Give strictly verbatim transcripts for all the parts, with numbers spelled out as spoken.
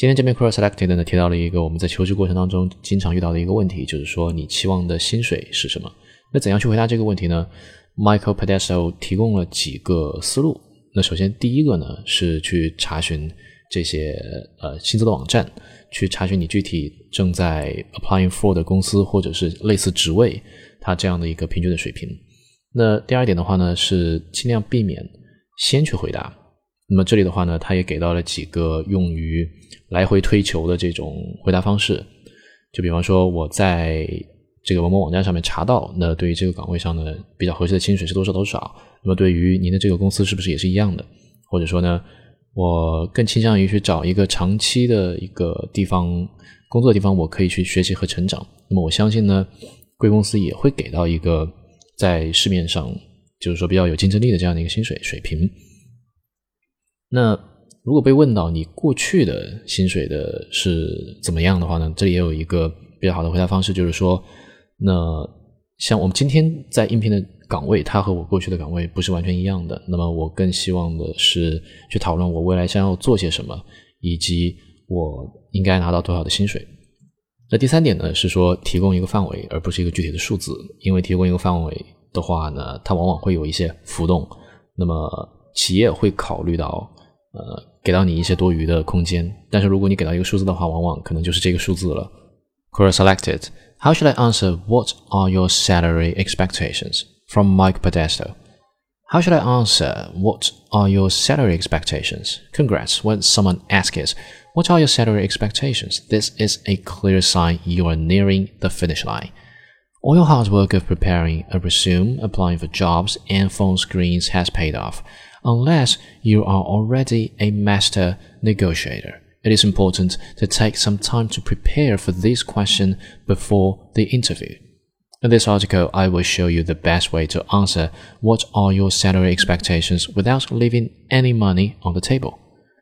今天这边 Quora Selected 呢提到了一个我们在求职过程当中经常遇到的一个问题，就是说你期望的薪水是什么？那怎样去回答这个问题呢？ Michael Podesta 提供了几个思路。那首先第一个呢是去查询这些呃薪资的网站，去查询你具体正在 applying for 的公司或者是类似职位它这样的一个平均的水平。那第二点的话呢是尽量避免先去回答。那么这里的话呢他也给到了几个用于来回推球的这种回答方式，就比方说我在这个某某网站上面查到，那对于这个岗位上呢比较合适的薪水是多少多少，那么对于您的这个公司是不是也是一样的？或者说呢我更倾向于去找一个长期的一个地方工作的地方，我可以去学习和成长。那么我相信呢贵公司也会给到一个在市面上就是说比较有竞争力的这样的一个薪水水平。那如果被问到你过去的薪水的是怎么样的话呢，这里也有一个比较好的回答方式，就是说那像我们今天在应聘的岗位，它和我过去的岗位不是完全一样的，那么我更希望的是去讨论我未来想要做些什么，以及我应该拿到多少的薪水。那第三点呢是说提供一个范围而不是一个具体的数字，因为提供一个范围的话呢它往往会有一些浮动，那么企业会考虑到呃给到你一些多余的空间，但是如果你给到一个数字的话，往往可能就是这个数字了。Quora Selected. How should I answer what are your salary expectations? From Mike Podesta. How should I answer what are your salary expectations? Congrats when someone asks, what are your salary expectations? This is a clear sign you are nearing the finish line. All your hard work of preparing a resume, applying for jobs, and phone screens has paid off, unless you are already a master negotiator.It is important to take some time to prepare for this question before the interview. In this article, I will show you the best way to answer what are your salary expectations without leaving any money on the table.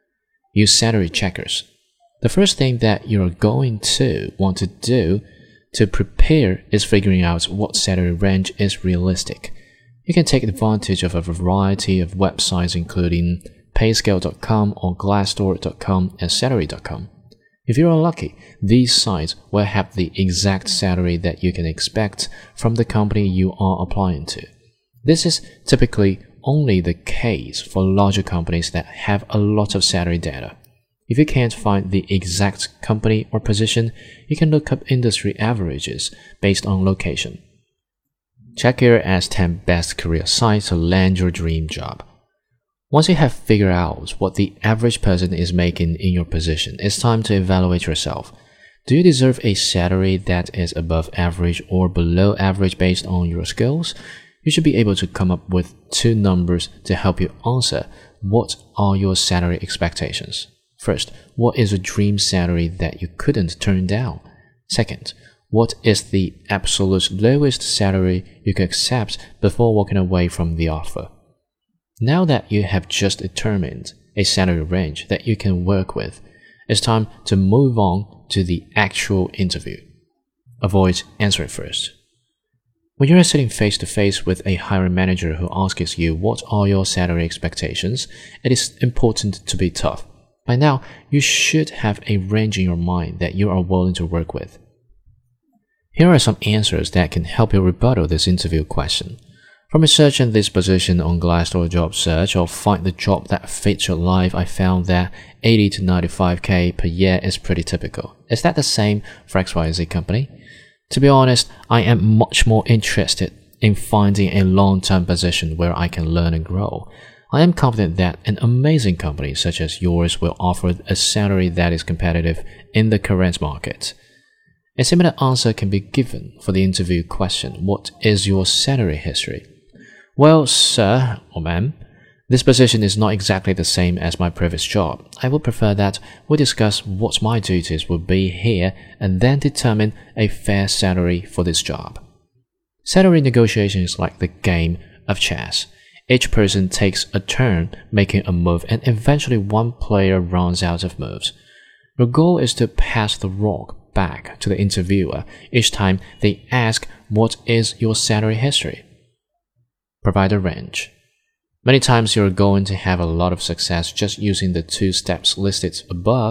Use salary checkers. The first thing that you are going to want to do to prepare is figuring out what salary range is realistic. You can take advantage of a variety of websites including payscale dot com or glassdoor dot com and salary dot com. If you are lucky, these sites will have the exact salary that you can expect from the company you are applying to. This is typically only the case for larger companies that have a lot of salary data. If you can't find the exact company or position, you can look up industry averages based on location. Check here as ten best career sites to land your dream job.Once you have figured out what the average person is making in your position, it's time to evaluate yourself. Do you deserve a salary that is above average or below average based on your skills? You should be able to come up with two numbers to help you answer what are your salary expectations. First, what is a dream salary that you couldn't turn down? Second, what is the absolute lowest salary you could accept before walking away from the offer?Now that you have just determined a salary range that you can work with, it's time to move on to the actual interview. Avoid answering first. When you are sitting face to face with a hiring manager who asks you what are your salary expectations, it is important to be tough. By now, you should have a range in your mind that you are willing to work with. Here are some answers that can help you rebuttal this interview question.From researching this position on Glassdoor job search or find the job that fits your life, I found that eighty to ninety-five K per year is pretty typical. Is that the same for X Y Z company? To be honest, I am much more interested in finding a long-term position where I can learn and grow. I am confident that an amazing company such as yours will offer a salary that is competitive in the current market. A similar answer can be given for the interview question, what is your salary history?Well, sir or ma'am, this position is not exactly the same as my previous job. I would prefer that we discuss what my duties will be here and then determine a fair salary for this job. Salary negotiation is like the game of chess. Each person takes a turn making a move and eventually one player runs out of moves. Your goal is to pass the rock back to the interviewer each time they ask what is your salary history.Provide a range. Many times you're going to have a lot of success just using the two steps listed above.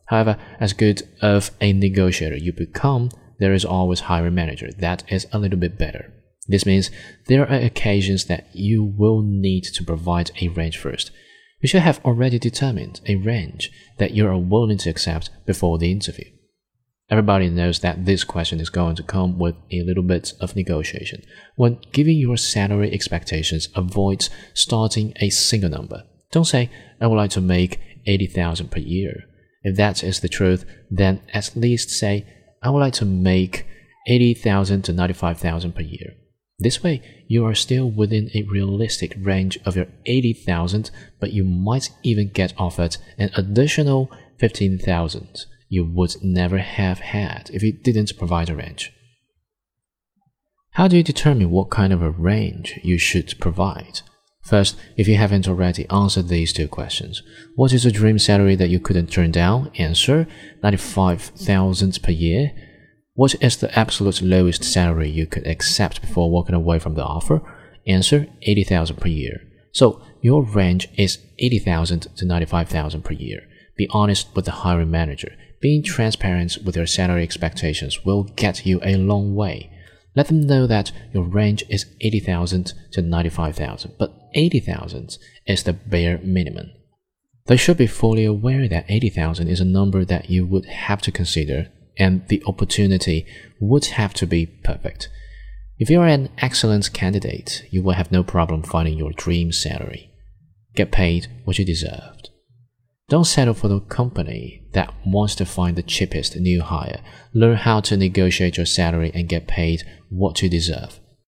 However, as good of a negotiator you become, there is always a hiring manager that is a little bit better. This means there are occasions that you will need to provide a range first. You should have already determined a range that you are willing to accept before the interview. Everybody knows that this question is going to come with a little bit of negotiation. When giving your salary expectations, avoid starting a single number. Don't say, I would like to make eighty thousand per year. If that is the truth, then at least say, I would like to make eighty thousand to ninety-five thousand per year. This way, you are still within a realistic range of your eighty thousand, but you might even get offered an additional fifteen thousand you would never have had if you didn't provide a range. How do you determine what kind of a range you should provide? First, if you haven't already answered these two questions, what is a dream salary that you couldn't turn down? Answer, ninety-five thousand per year. What is the absolute lowest salary you could accept before walking away from the offer? Answer, eighty thousand per year. So, your range is eighty thousand to ninety-five thousand per year. Be honest with the hiring manager. Being transparent with your salary expectations will get you a long way. Let them know that your range is eighty thousand to ninety-five thousand, but eighty thousand is the bare minimum. They should be fully aware that eighty thousand is a number that you would have to consider, and the opportunity would have to be perfect. If you are an excellent candidate, you will have no problem finding your dream salary. Get paid what you deserved. Don't settle for the company that wants to find the cheapest new hire. Learn how to negotiate your salary and get paid what you deserve.